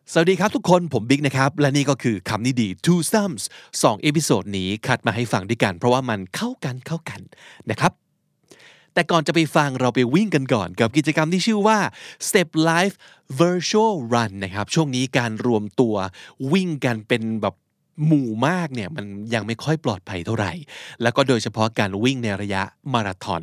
สวัสดีครับทุกคนผมบิ๊กนะครับและนี่ก็คือคำนี้ดี Two Sums 2 เอพิโซดนี้คัดมาให้ฟังด้วยกันเพราะว่ามันเข้ากันนะครับแต่ก่อนจะไปฟังเราไปวิ่งกันก่อนกับกิจกรรมที่ชื่อว่า Step Life Virtual Run นะครับช่วงนี้การรวมตัววิ่งกันเป็นแบบหมู่มากเนี่ยมันยังไม่ค่อยปลอดภัยเท่าไหร่แล้วก็โดยเฉพาะการวิ่งในระยะมาราธอน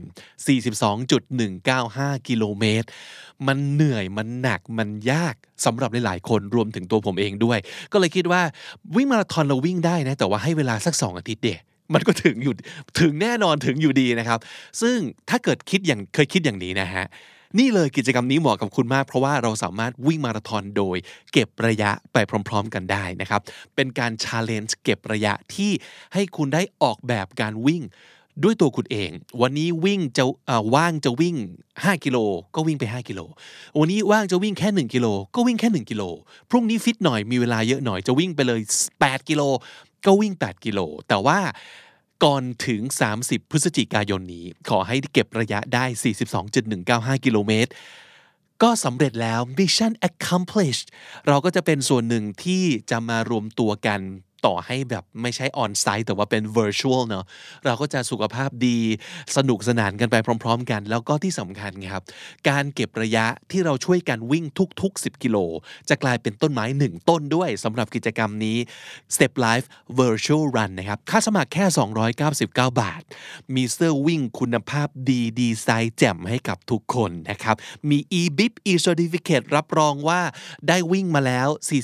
42.195 กิโลเมตรมันเหนื่อยมันหนักมันยากสำหรับหลายๆคนรวมถึงตัวผมเองด้วยก็เลยคิดว่าวิ่งมาราธอนเราวิ่งได้นะแต่ว่าให้เวลาสัก2 อาทิตย์เดียวมันก็ถึงแน่นอนถึงอยู่ดีนะครับซึ่งถ้าเกิดเคยคิดอย่างนี้นะฮะนี่เลยกิจกรรมนี้เหมาะกับคุณมากเพราะว่าเราสามารถวิ่งมาราธอนโดยเก็บระยะไปพร้อมๆกันได้นะครับเป็นการ challenge เก็บระยะที่ให้คุณได้ออกแบบการวิ่งด้วยตัวคุณเองวันนี้วิ่งว่างจะวิ่ง5 กิโลก็วิ่งไป5 กิโลวันนี้ว่างจะวิ่งแค่1 กิโลก็วิ่งแค่1 กิโลพรุ่งนี้ฟิตหน่อยมีเวลาเยอะหน่อยจะวิ่งไปเลย8 กิโลก็วิ่ง8 กิโลแต่ว่าก่อนถึง30 พฤศจิกายนนี้ขอให้เก็บระยะได้ 42.195 กิโลเมตรก็สำเร็จแล้ว Mission accomplished เราก็จะเป็นส่วนหนึ่งที่จะมารวมตัวกันต่อให้แบบไม่ใช่ออนไซต์แต่ว่าเป็น virtual เนาะเราก็จะสุขภาพดีสนุกสนานกันไปพร้อมๆกันแล้วก็ที่สำคัญครับการเก็บระยะที่เราช่วยกันวิ่งทุกๆ10 กิโลจะกลายเป็นต้นไม้1 ต้นด้วยสำหรับกิจกรรมนี้ Step Life Virtual Run นะครับค่าสมัครแค่299 บาทมีเสื้อวิ่งคุณภาพดีไซน์แจ่มให้กับทุกคนนะครับมี e-bib e-certificate รับรองว่าได้วิ่งมาแล้ว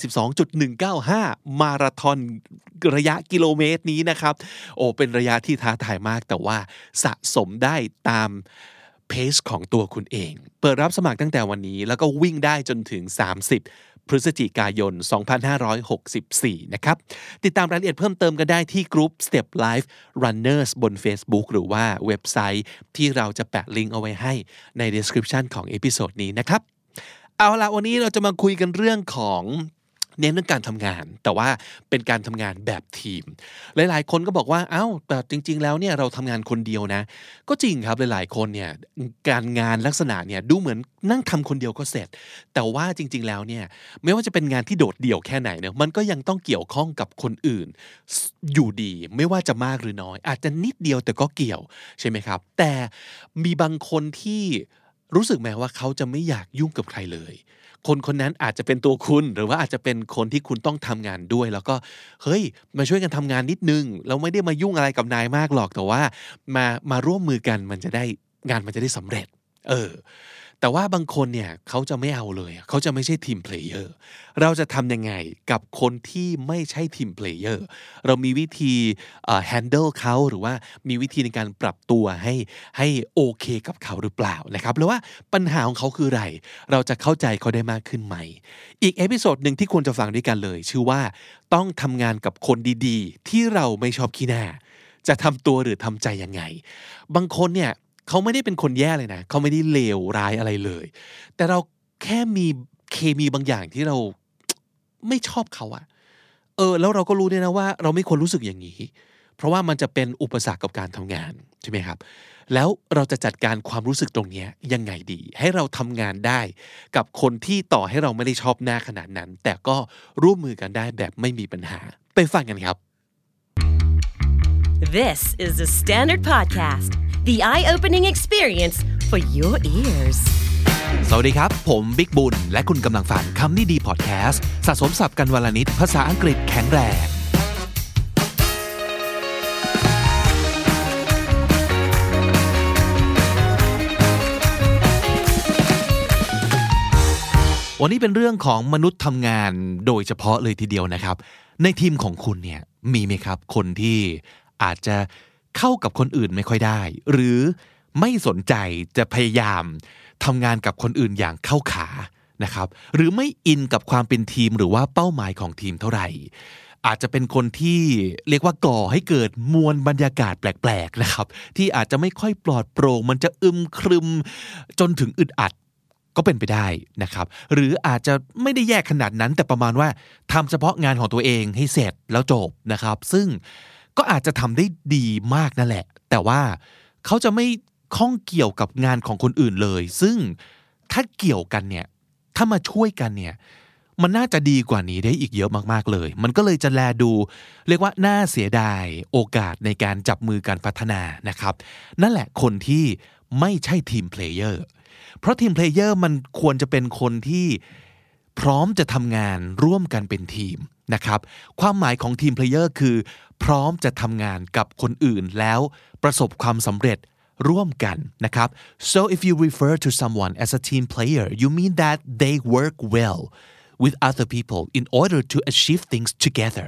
42.195 มาราธอนระยะกิโลเมตรนี้นะครับเป็นระยะที่ท้าทายมากแต่ว่าสะสมได้ตามเพจของตัวคุณเองเปิดรับสมัครตั้งแต่วันนี้แล้วก็วิ่งได้จนถึง30 พฤศจิกายน 2564 นะครับติดตามรายละเอียดเพิ่มเติมกันได้ที่กลุ่ม Step Life Runners บน Facebook หรือว่าเว็บไซต์ที่เราจะแปะลิงก์เอาไว้ให้ใน description ของเอพิโซดนี้นะครับเอาล่ะวันนี้เราจะมาคุยกันเรื่องของเน้นเรื่องการทำงานแต่ว่าเป็นการทำงานแบบทีมหลายๆคนก็บอกว่าแต่จริงๆแล้วเนี่ยเราทำงานคนเดียวนะก็จริงครับหลายๆคนเนี่ยการงานลักษณะเนี่ยดูเหมือนนั่งทำคนเดียวก็เสร็จแต่ว่าจริงๆแล้วเนี่ยไม่ว่าจะเป็นงานที่โดดเดี่ยวแค่ไหนเนี่ยมันก็ยังต้องเกี่ยวข้องกับคนอื่นอยู่ดีไม่ว่าจะมากหรือน้อยอาจจะนิดเดียวแต่ก็เกี่ยวใช่ไหมครับแต่มีบางคนที่รู้สึกแม้ว่าเขาจะไม่อยากยุ่งกับใครเลยคนนั้นอาจจะเป็นตัวคุณหรือว่าอาจจะเป็นคนที่คุณต้องทำงานด้วยแล้วก็เฮ้ยมาช่วยกันทำงานนิดนึงเราไม่ได้มายุ่งอะไรกับนายมากหรอกแต่ว่ามาร่วมมือกันมันจะได้งานมันจะได้สำเร็จแต่ว่าบางคนเนี่ยเขาจะไม่เอาเลยเขาจะไม่ใช่ทีมเพลเยอร์เราจะทำยังไงกับคนที่ไม่ใช่ทีมเพลเยอร์เรามีวิธีhandle เขาหรือว่ามีวิธีในการปรับตัวให้โอเคกับเขาหรือเปล่านะครับหรือว่าปัญหาของเขาคืออะไรเราจะเข้าใจเขาได้มากขึ้นไหมอีกเอพิโซดหนึ่งที่ควรจะฟังด้วยกันเลยชื่อว่าต้องทำงานกับคนดีๆที่เราไม่ชอบขี้หน้าจะทำตัวหรือทำใจยังไงบางคนเนี่ยเขาไม่ได้เป็นคนแย่เลยนะเขาไม่ได้เลวร้ายอะไรเลยแต่เราแค่มีเคมีบางอย่างที่เราไม่ชอบเขาอะแล้วเราก็รู้ด้วยนะว่าเราไม่ควรรู้สึกอย่างนี้เพราะว่ามันจะเป็นอุปสรรคกับการทำงานใช่ไหมครับแล้วเราจะจัดการความรู้สึกตรงนี้ยังไงดีให้เราทำงานได้กับคนที่ต่อให้เราไม่ได้ชอบหน้าขนาดนั้นแต่ก็ร่วมมือกันได้แบบไม่มีปัญหาไปฟังกันครับ This is the Standard Podcast, the eye-opening experience for your ears. สวัสดีครับผมบิ๊กบุญและคุณกำลังฟังคำนี้ดีพอดแคสต์สะสมศัพท์กันวันละนิดภาษาอังกฤษแข็งแรงวันนี้เป็นเรื่องของมนุษย์ทำงานโดยเฉพาะเลยทีเดียวนะครับในทีมของคุณเนี่ยมีไหมครับคนที่อาจจะเข้ากับคนอื่นไม่ค่อยได้หรือไม่สนใจจะพยายามทำงานกับคนอื่นอย่างเข้าขานะครับหรือไม่อินกับความเป็นทีมหรือว่าเป้าหมายของทีมเท่าไหร่อาจจะเป็นคนที่เรียกว่าก่อให้เกิดมวลบรรยากาศแปลกๆนะครับที่อาจจะไม่ค่อยปลอดโปร่งมันจะครึมจนถึงอึดอัดก็เป็นไปได้นะครับหรืออาจจะไม่ได้แยกขนาดนั้นแต่ประมาณว่าทำเฉพาะงานของตัวเองให้เสร็จแล้วจบนะครับซึ่งก็อาจจะทำได้ดีมากนั่นแหละแต่ว่าเขาจะไม่ข้องเกี่ยวกับงานของคนอื่นเลยซึ่งถ้าเกี่ยวกันเนี่ยถ้ามาช่วยกันเนี่ยมันน่าจะดีกว่านี้ได้อีกเยอะมากๆเลยมันก็เลยจะแลดูเรียกว่าน่าเสียดายโอกาสในการจับมือการพัฒนานะครับนั่นแหละคนที่ไม่ใช่ทีมเพลเยอร์เพราะทีมเพลเยอร์มันควรจะเป็นคนที่พร้อมจะทำงานร่วมกันเป็นทีมนะครับความหมายของทีมเพลเยอร์คือพร้อมจะทำงานกับคนอื่นแล้วประสบความสำเร็จร่วมกันนะครับ so if you refer to someone as a team player you mean that they work well with other people in order to achieve things together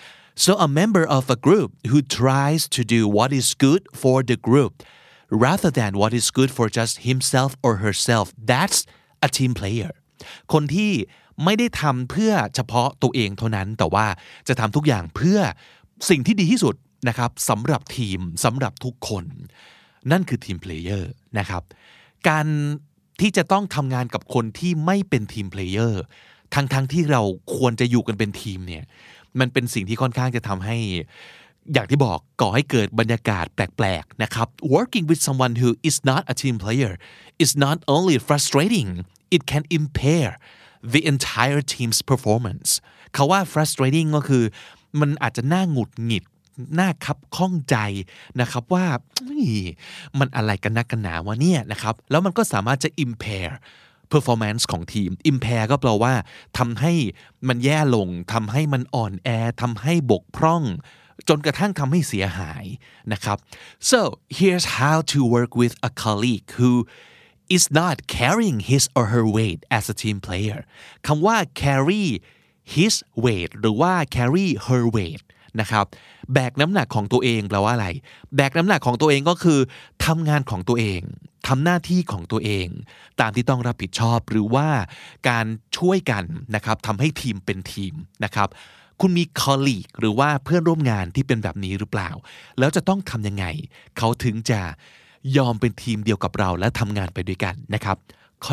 so a member of a group who tries to do what is good for the group rather than what is good for just himself or herself that's a team player คนที่ไม่ได้ทำเพื่อเฉพาะตัวเองเท่านั้นแต่ว่าจะทำทุกอย่างเพื่อสิ่งที่ดีที่สุดนะครับสำหรับทีมสำหรับทุกคนนั่นคือทีมเพลเยอร์นะครับการที่จะต้องทำงานกับคนที่ไม่เป็นทีมเพลเยอร์ทั้งที่เราควรจะอยู่กันเป็นทีมเนี่ยมันเป็นสิ่งที่ค่อนข้างจะทำให้อย่างที่บอกก่อให้เกิดบรรยากาศแปลกๆนะครับ working with someone who is not a team player is not only frustrating it can impair the entire team's performance เขาว่า frustrating ก็คือมันอาจจะน่าหงุดหงิดน่าคับข้องใจนะครับว่ามันอะไรกันนักกันหนาวะเนี่ยนะครับแล้วมันก็สามารถจะ impair performance ของทีม impair ก็แปลว่าทำให้มันแย่ลงทำให้มันอ่อนแอทำให้บกพร่องจนกระทั่งทำให้เสียหายนะครับ so here's how to work with a colleague who is not carrying his or her weight as a team player คำว่า carry his weight หรือว่า carry her weight นะครับแบกน้ำหนักของตัวเองแปลว่าอะไรแบกน้ำหนักของตัวเองก็คือทำงานของตัวเองทำหน้าที่ของตัวเองตามที่ต้องรับผิดชอบหรือว่าการช่วยกันนะครับทำให้ทีมเป็นทีมนะครับคุณมี colleague หรือว่าเพื่อนร่วมงานที่เป็นแบบนี้หรือเปล่าแล้วจะต้องทำยังไงเขาถึงจะยอมเป็นทีมเดียวกับเราและทำงานไปด้วยกันนะครับข้อ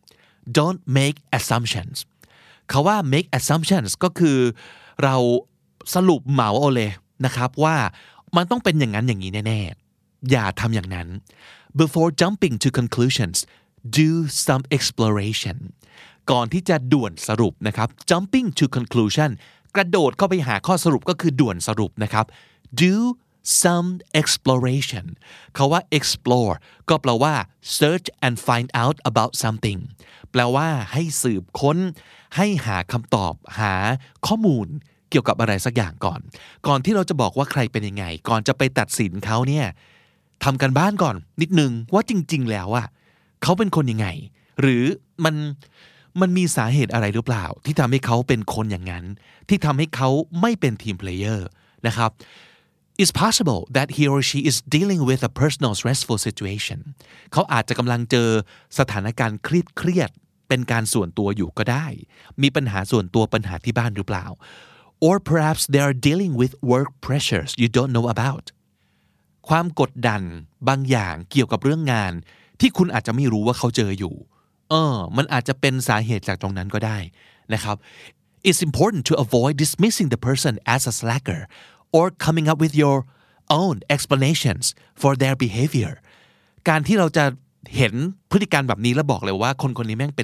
1 don't make assumptions เขาว่า make assumptions ก็คือเราสรุปเหมาเอาเลยนะครับว่ามันต้องเป็นอย่างนั้นอย่างนี้แน่ๆอย่าทำอย่างนั้น before jumping to conclusions do some exploration ก่อนที่จะด่วนสรุปนะครับ jumping to conclusion กระโดดเข้าไปหาข้อสรุปก็คือด่วนสรุปนะครับ do some exploration เขาว่า explore ก็แปลว่า search and find out about something แปลว่าให้สืบค้นให้หาคำตอบหาข้อมูลเกี่ยวกับอะไรสักอย่างก่อนที่เราจะบอกว่าใครเป็นยังไงก่อนจะไปตัดสินเขาเนี่ยทำกันบ้านก่อนนิดนึงว่าจริงๆแล้วอะเขาเป็นคนยังไงหรือมันมีสาเหตุอะไรหรือเปล่าที่ทำให้เขาเป็นคนอย่างนั้นที่ทำให้เขาไม่เป็นทีมเพลเยอร์นะครับ It's possible that he or she is dealing with a personal stressful situation เขาอาจจะกำลังเจอสถานการณ์เครียดเป็นการส่วนตัวอยู่ก็ได้มีปัญหาส่วนตัวปัญหาที่บ้านหรือเปล่า or perhaps they are dealing with work pressures you don't know about ความกดดันบางอย่างเกี่ยวกับเรื่องงานที่คุณอาจจะไม่รู้ว่าเขาเจออยู่มันอาจจะเป็นสาเหตุจากตรงนั้นก็ได้นะครับ It's important to avoid dismissing the person as a slacker or coming up with your own explanations for their behavior การที่เราจะเห็นพฤติกรรมแบบนี้แล้วบอกเลยว่าคนนี้แม่งเป็น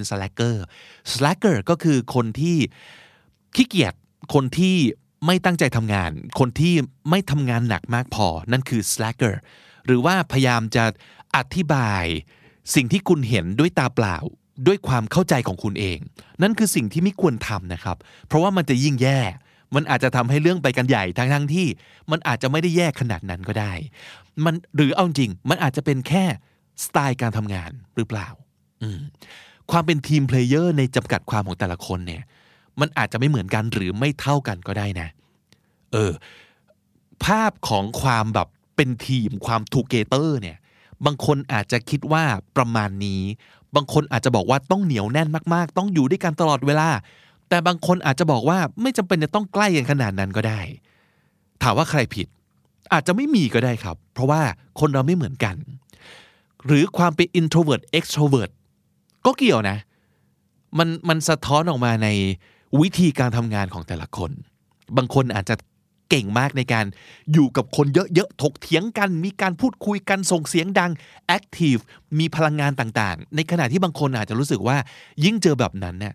slacker ก็คือคนที่ขี้เกียจคนที่ไม่ตั้งใจทำงานคนที่ไม่ทำงานหนักมากพอนั่นคือ slacker หรือว่าพยายามจะอธิบายสิ่งที่คุณเห็นด้วยตาเปล่าด้วยความเข้าใจของคุณเองนั่นคือสิ่งที่ไม่ควรทำนะครับเพราะว่ามันจะยิ่งแย่มันอาจจะทำให้เรื่องไปกันใหญ่ทั้งที่มันอาจจะไม่ได้แย่ขนาดนั้นก็ได้มันหรือเอาจริงมันอาจจะเป็นแค่สไตล์การทำงานหรือเปล่าความเป็นทีมเพลเยอร์ในจำกัดความของแต่ละคนเนี่ยมันอาจจะไม่เหมือนกันหรือไม่เท่ากันก็ได้นะภาพของความแบบเป็นทีมความทูเกเตอร์เนี่ยบางคนอาจจะคิดว่าประมาณนี้บางคนอาจจะบอกว่าต้องเหนียวแน่นมากๆต้องอยู่ด้วยกันตลอดเวลาแต่บางคนอาจจะบอกว่าไม่จำเป็นจะต้องใกล้กันขนาดนั้นก็ได้ถามว่าใครผิดอาจจะไม่มีก็ได้ครับเพราะว่าคนเราไม่เหมือนกันหรือความเป็น introvert extrovert ก็เกี่ยวนะมันสะท้อนออกมาในวิธีการทำงานของแต่ละคนบางคนอาจจะเก่งมากในการอยู่กับคนเยอะๆถกเถียงกันมีการพูดคุยกันส่งเสียงดัง active มีพลังงานต่างๆในขณะที่บางคนอาจจะรู้สึกว่ายิ่งเจอแบบนั้นเนี่ย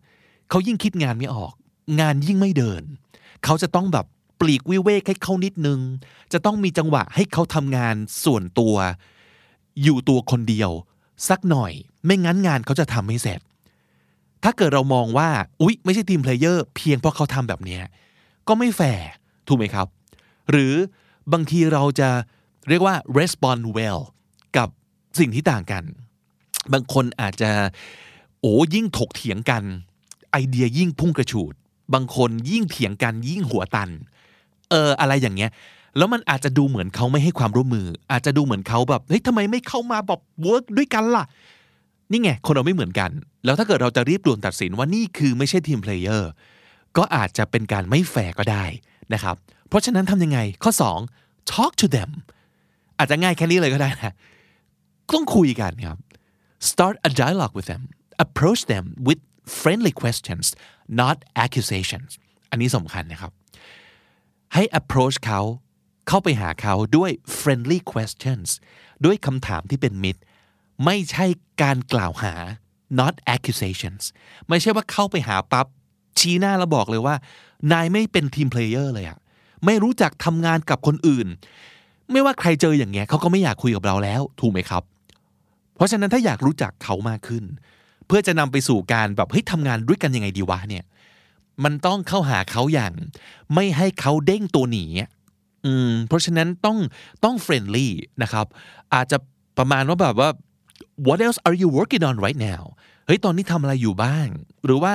เขายิ่งคิดงานไม่ออกงานยิ่งไม่เดินเขาจะต้องแบบปลีกวิเวกให้เขานิดนึงจะต้องมีจังหวะให้เขาทำงานส่วนตัวอยู่ตัวคนเดียวสักหน่อยไม่งั้นงานเขาจะทำไม่เสร็จถ้าเกิดเรามองว่าอุ๊ยไม่ใช่ทีมเพลเยอร์เพียงเพราะเขาทำแบบนี้ก็ไม่แฟร์ถูกไหมครับหรือบางทีเราจะเรียกว่า respond well กับสิ่งที่ต่างกันบางคนอาจจะยิ่งถกเถียงกันไอเดียยิ่งพุ่งกระฉูดบางคนยิ่งเถียงกันยิ่งหัวตันอะไรอย่างเงี้ยแล้วมันอาจจะดูเหมือนเขาไม่ให้ความร่วมมืออาจจะดูเหมือนเขาแบบเฮ้ยทำไมไม่เข้ามาแบบเวิร์กด้วยกันล่ะนี่ไงคนเราไม่เหมือนกันแล้วถ้าเกิดเราจะรีบด่วนตัดสินว่านี่คือไม่ใช่ทีมเพลเยอร์ก็อาจจะเป็นการไม่แฟร์ก็ได้นะครับเพราะฉะนั้นทำยังไงข้อ2 talk to them อาจจะง่ายแค่นี้เลยก็ได้นะต้องคุยกันครับ start a dialogue with them approach them with friendly questions not accusations อันนี้สำคัญนะครับให้ approach เขาเข้าไปหาเขาด้วย friendly questions ด้วยคำถามที่เป็นมิตรไม่ใช่การกล่าวหา not accusations ไม่ใช่ว่าเข้าไปหาปั๊บชี้หน้าแล้วบอกเลยว่านายไม่เป็นทีมเพลเยอร์เลยอะไม่รู้จักทำงานกับคนอื่นไม่ว่าใครเจออย่างเงี้ยเขาก็ไม่อยากคุยกับเราแล้วถูกไหมครับเพราะฉะนั้นถ้าอยากรู้จักเขามากขึ้นเพื่อจะนำไปสู่การแบบเฮ้ยทำงานด้วยกันยังไงดีวะเนี่ยมันต้องเข้าหาเขาอย่างไม่ให้เขาเด้งตัวหนีเพราะฉะนั้นต้องเฟรนลี่นะครับอาจจะประมาณว่าแบบว่า what else are you working on right now เฮ้ยตอนนี้ทำอะไรอยู่บ้างหรือว่า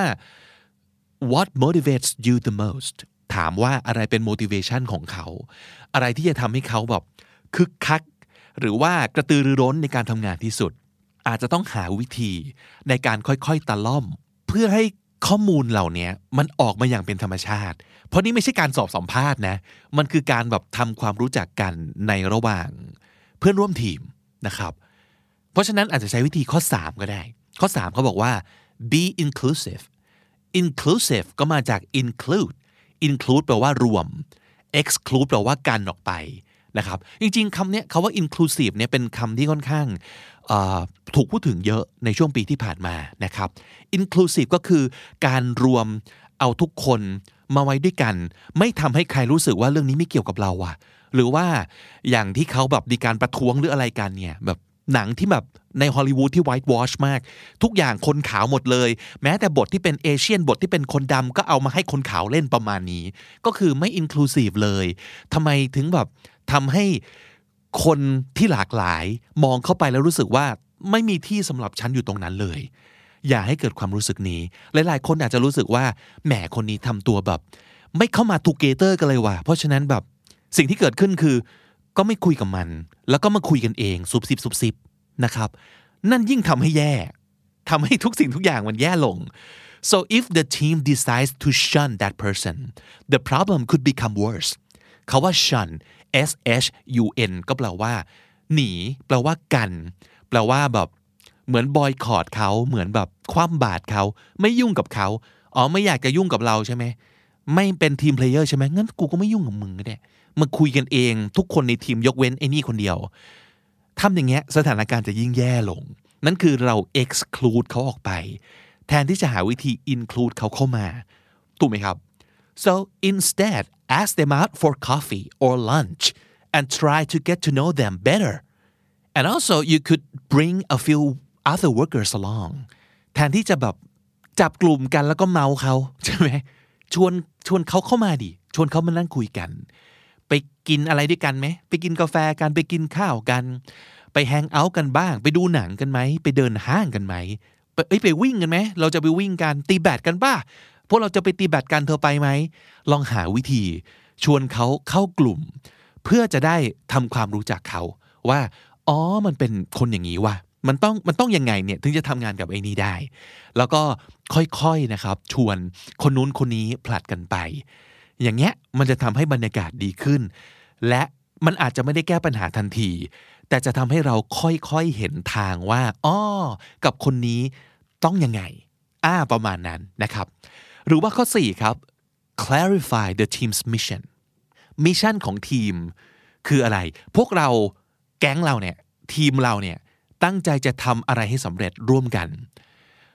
what motivates you the most ถามว่าอะไรเป็น motivation ของเขาอะไรที่จะทำให้เขาแบบคึกคักหรือว่ากระตือรือร้นในการทำงานที่สุดอาจจะต้องหาวิธีในการค่อยๆตะล่อมเพื่อให้ข้อมูลเหล่านี้มันออกมาอย่างเป็นธรรมชาติเพราะนี่ไม่ใช่การสอบสัมภาษณ์นะมันคือการแบบทำความรู้จักกันในระหว่างเพื่อนร่วมทีมนะครับเพราะฉะนั้นอาจจะใช้วิธีข้อ3ก็ได้ข้อ3เขาบอกว่า be inclusive inclusive ก็มาจาก include แปลว่ารวม exclude แปลว่ากันออกไปนะครับจริงๆคำนี้คำว่า inclusive เนี่ยเป็นคำที่ค่อนข้างถูกพูดถึงเยอะในช่วงปีที่ผ่านมานะครับ inclusive ก็คือการรวมเอาทุกคนมาไว้ด้วยกันไม่ทำให้ใครรู้สึกว่าเรื่องนี้ไม่เกี่ยวกับเราอะหรือว่าอย่างที่เขาแบบมีการประท้วงหรืออะไรกันเนี่ยแบบหนังที่แบบในฮอลลีวูดที่ white wash มากทุกอย่างคนขาวหมดเลยแม้แต่บทที่เป็นเอเชียนบทที่เป็นคนดำก็เอามาให้คนขาวเล่นประมาณนี้ก็คือไม่ inclusive เลยทำไมถึงแบบทำให้คนที่หลากหลายมองเข้าไปแล้วรู้สึกว่าไม่มีที่สำหรับฉันอยู่ตรงนั้นเลยอย่าให้เกิดความรู้สึกนี้หลายๆคนอาจจะรู้สึกว่าแหมคนนี้ทำตัวแบบไม่เข้ามาทูเกเตอร์กันเลยว่ะเพราะฉะนั้นแบบสิ่งที่เกิดขึ้นคือก็ไม่คุยกับมันแล้วก็มาคุยกันเองซุบซิบนะครับนั่นยิ่งทำให้แย่ทำให้ทุกสิ่งทุกอย่างมันแย่ลง so if the team decides to shun that person the problem could become worse คำว่า shun shun ก็แปลว่าหนีแปลว่ากันแปลว่าแบบเหมือนบอยคอตเขาเหมือนแบบคว่ำบาตรเขาไม่ยุ่งกับเขาไม่อยากจะยุ่งกับเราใช่ไหมไม่เป็นทีมเพลเยอร์ใช่ไหมงั้นกูก็ไม่ยุ่งกับมึงก็ได้มาคุยกันเองทุกคนในทีมยกเว้นไอ้นี่คนเดียวทำอย่างเงี้ยสถานการณ์จะยิ่งแย่ลงนั่นคือเรา exclude เขาออกไปแทนที่จะหาวิธี include เขาเข้ามาถูกไหมครับ so instead ask them out for coffee or lunch and try to get to know them better and also you could bring a few other workers along แทนที่จะแบบจับกลุ่มกันแล้วก็เมาเขาใช่ไหมชวนเขาเข้ามาดิชวนเขามานั่งคุยกันไปกินอะไรด้วยกันไหมไปกินกาแฟกันไปกินข้าวกันไปแฮงเอาท์กันบ้างไปดูหนังกันไหมไปเดินห้างกันไหมไปวิ่งกันไหมเราจะไปวิ่งกันตีแบดกันป่ะพวกเราจะไปตีแบดกันเธอไปไหมลองหาวิธีชวนเขาเข้ากลุ่มเพื่อจะได้ทำความรู้จักเขาว่ามันเป็นคนอย่างนี้ว่ะมันต้องยังไงเนี่ยถึงจะทำงานกับไอ้นี้ได้แล้วก็ค่อยๆนะครับชวนคนนู้นคนนี้ผลัดกันไปอย่างเงี้ยมันจะทำให้บรรยากาศดีขึ้นและมันอาจจะไม่ได้แก้ปัญหาทันทีแต่จะทำให้เราค่อยๆเห็นทางว่ากับคนนี้ต้องยังไงประมาณนั้นนะครับหรือว่าข้อ4ครับ clarify the team's mission มิชชั่นของทีมคืออะไรพวกเราแก๊งเราเนี่ยทีมเราเนี่ยตั้งใจจะทำอะไรให้สำเร็จร่วมกัน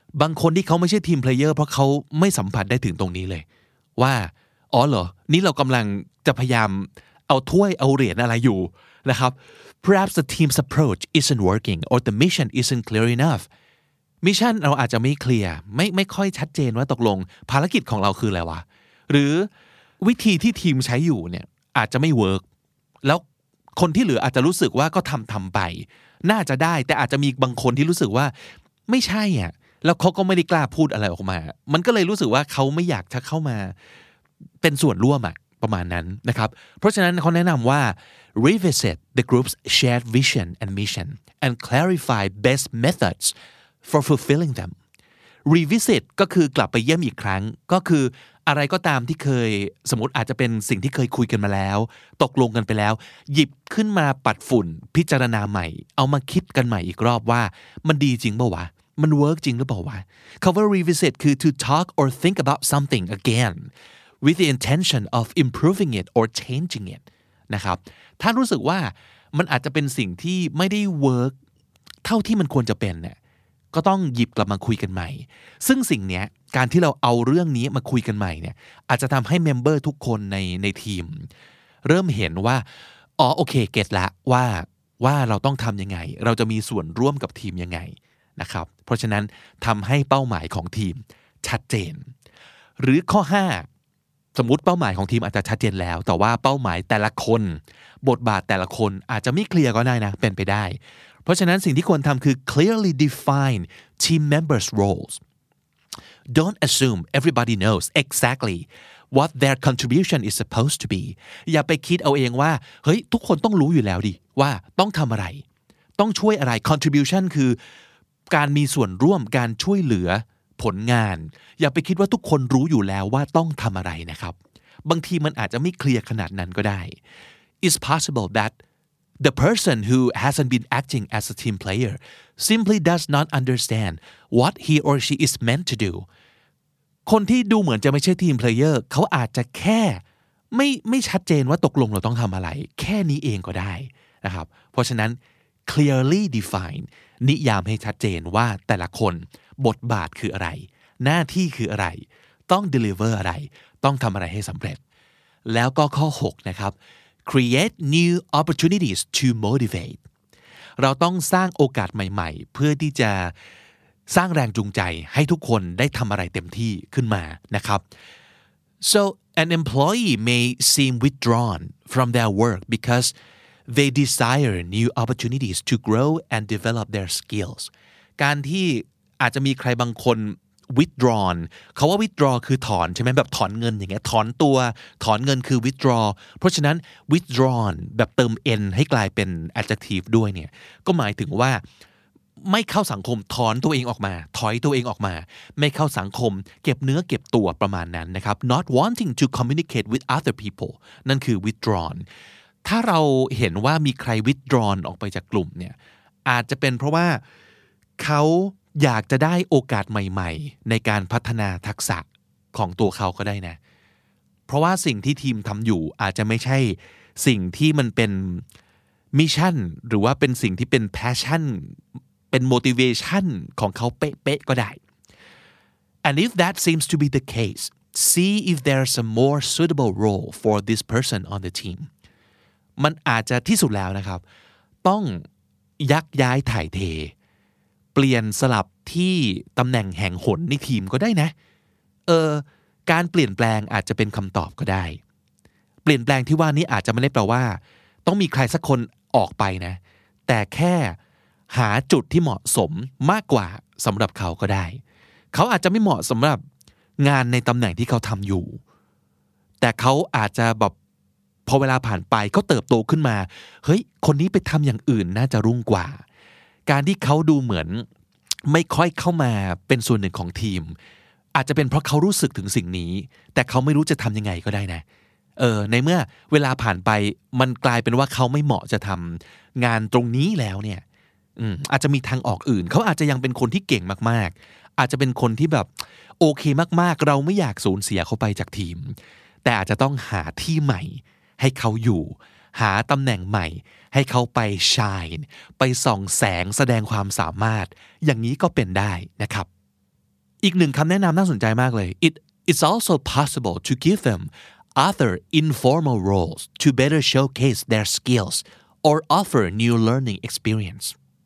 บางคนที่เขาไม่ใช่ทีมเพลเยอร์เพราะเขาไม่สัมผัสได้ถึงตรงนี้เลยว่าอ๋อเหรอนี่เรากำลังจะพยายามเอาถ้วยเอาเหรียญอะไรอยู่นะครับ perhaps the team's approach isn't working or the mission isn't clear enough มิชชั่นเราอาจจะไม่เคลียร์ไม่ค่อยชัดเจนว่าตกลงภารกิจของเราคืออะไรวะหรือวิธีที่ทีมใช้อยู่เนี่ยอาจจะไม่เวิร์กแล้วคนที่เหลืออาจจะรู้สึกว่าก็ทำไปน่าจะได้แต่อาจจะมีบางคนที่รู้สึกว่าไม่ใช่อ่ะแล้วเขาก็ไม่ได้กล้าพูดอะไรออกมามันก็เลยรู้สึกว่าเขาไม่อยากจะเข้ามาเป็นส่วนร่วมอ่ะประมาณนั้นนะครับเพราะฉะนั้นเขาแนะนำว่า revisit the group's shared vision and mission and clarify best methods for fulfilling them revisit ก็คือกลับไปเยี่ยมอีกครั้งก็คืออะไรก็ตามที่เคยสมมติอาจจะเป็นสิ่งที่เคยคุยกันมาแล้วตกลงกันไปแล้วหยิบขึ้นมาปัดฝุ่นพิจารณาใหม่เอามาคิดกันใหม่อีกรอบว่ามันดีจริงเปล่าวะมันเวิร์กจริงหรือเปล่าวะคำว่า revisit คือ to talk or think about something again with the intention of improving it or changing it นะครับถ้ารู้สึกว่ามันอาจจะเป็นสิ่งที่ไม่ได้เวิร์กเท่าที่มันควรจะเป็นเนี่ยก็ต้องหยิบกลับมาคุยกันใหม่ซึ่งสิ่งเนี้ยการที่เราเอาเรื่องนี้มาคุยกันใหม่เนี่ยอาจจะทำให้เมมเบอร์ทุกคนในทีมเริ่มเห็นว่าอ๋อโอเคเก็ตละว่าเราต้องทำยังไงเราจะมีส่วนร่วมกับทีมยังไงนะครับเพราะฉะนั้นทำให้เป้าหมายของทีมชัดเจนหรือข้อ5สมมุติเป้าหมายของทีมอาจจะชัดเจนแล้วแต่ว่าเป้าหมายแต่ละคนบทบาทแต่ละคนอาจจะไม่เคลียร์ก็ได้นะเป็นไปได้เพราะฉะนั้นสิ่งที่ควรทำคือ clearly define team members' roles. Don't assume everybody knows exactly what their contribution is supposed to be. อย่าไปคิดเอาเองว่าเฮ้ยทุกคนต้องรู้อยู่แล้วดิว่าต้องทำอะไรต้องช่วยอะไร contribution คือการมีส่วนร่วมการช่วยเหลือผลงานอย่าไปคิดว่าทุกคนรู้อยู่แล้วว่าต้องทำอะไรนะครับบางทีมันอาจจะไม่เคลียร์ขนาดนั้นก็ได้ It's possible that the person who hasn't been acting as a team player simply does not understand what he or she is meant to do คนที่ดูเหมือนจะไม่ใช่ทีมเพลเยอร์เขาอาจจะแค่ไม่ชัดเจนว่าตกลงเราต้องทำอะไรแค่นี้เองก็ได้นะครับเพราะฉะนั้น clearly define นิยามให้ชัดเจนว่าแต่ละคนบทบาทคืออะไรหน้าที่คืออะไรต้อง deliver อะไรต้องทำอะไรให้สำเร็จแล้วก็ข้อ6นะครับcreate new opportunities to motivate เราต้องสร้างโอกาสใหม่ๆเพื่อที่จะสร้างแรงจูงใจให้ทุกคนได้ทำอะไรเต็มที่ขึ้นมานะครับ so an employee may seem withdrawn from their work because they desire new opportunities to grow and develop their skills การที่อาจจะมีใครบางคน withdrawn เขาว่า withdraw คือถอนใช่ไหมแบบถอนเงินอย่างเงี้ยถอนตัวถอนเงินคือ withdraw เพราะฉะนั้น withdrawn แบบเติม n ให้กลายเป็น adjective ด้วยเนี่ยก็หมายถึงว่าไม่เข้าสังคมถอนตัวเองออกมาถอยตัวเองออกมาไม่เข้าสังคมเก็บเนื้อเก็บตัวประมาณนั้นนะครับ not wanting to communicate with other people นั่นคือ withdrawn ถ้าเราเห็นว่ามีใคร withdrawn ออกไปจากกลุ่มเนี่ยอาจจะเป็นเพราะว่าเขาอยากจะได้โอกาสใหม่ๆในการพัฒนาทักษะของตัวเขาก็ได้นะเพราะว่าสิ่งที่ทีมทำอยู่อาจจะไม่ใช่สิ่งที่มันเป็นมิชชั่นหรือว่าเป็นสิ่งที่เป็นแพชชั่นเป็น motivation ของเขาเป๊ะๆก็ได้ and if that seems to be the case see if there's a more suitable role for this person on the team มันอาจจะที่สุดแล้วนะครับต้องยักย้ายถ่ายเทเปลี่ยนสลับที่ตำแหน่งแห่งหนในทีมก็ได้นะการเปลี่ยนแปลงอาจจะเป็นคำตอบก็ได้เปลี่ยนแปลงที่ว่านี้อาจจะไม่ได้แปลว่าต้องมีใครสักคนออกไปนะแต่แค่หาจุดที่เหมาะสมมากกว่าสำหรับเขาก็ได้เขาอาจจะไม่เหมาะสำหรับงานในตำแหน่งที่เขาทำอยู่แต่เขาอาจจะแบบพอเวลาผ่านไปเขาเติบโตขึ้นมาเฮ้ยคนนี้ไปทำอย่างอื่นน่าจะรุ่งกว่าการที่เขาดูเหมือนไม่ค่อยเข้ามาเป็นส่วนหนึ่งของทีมอาจจะเป็นเพราะเขารู้สึกถึงสิ่งนี้แต่เขาไม่รู้จะทำยังไงก็ได้นะในเมื่อเวลาผ่านไปมันกลายเป็นว่าเขาไม่เหมาะจะทำงานตรงนี้แล้วเนี่ยอาจจะมีทางออกอื่นเขาอาจจะยังเป็นคนที่เก่งมากๆอาจจะเป็นคนที่แบบโอเคมากๆเราไม่อยากสูญเสียเขาไปจากทีมแต่อาจจะต้องหาที่ใหม่ให้เขาอยู่หาตำแหน่งใหม่ให้เขาไป shine ไปส่องแสงแสดงความสามารถอย่างนี้ก็เป็นได้นะครับอีกหนึ่งคำแนะนำน่าสนใจมากเลย It's also possible to give them other informal roles to better showcase their skills or offer new learning experience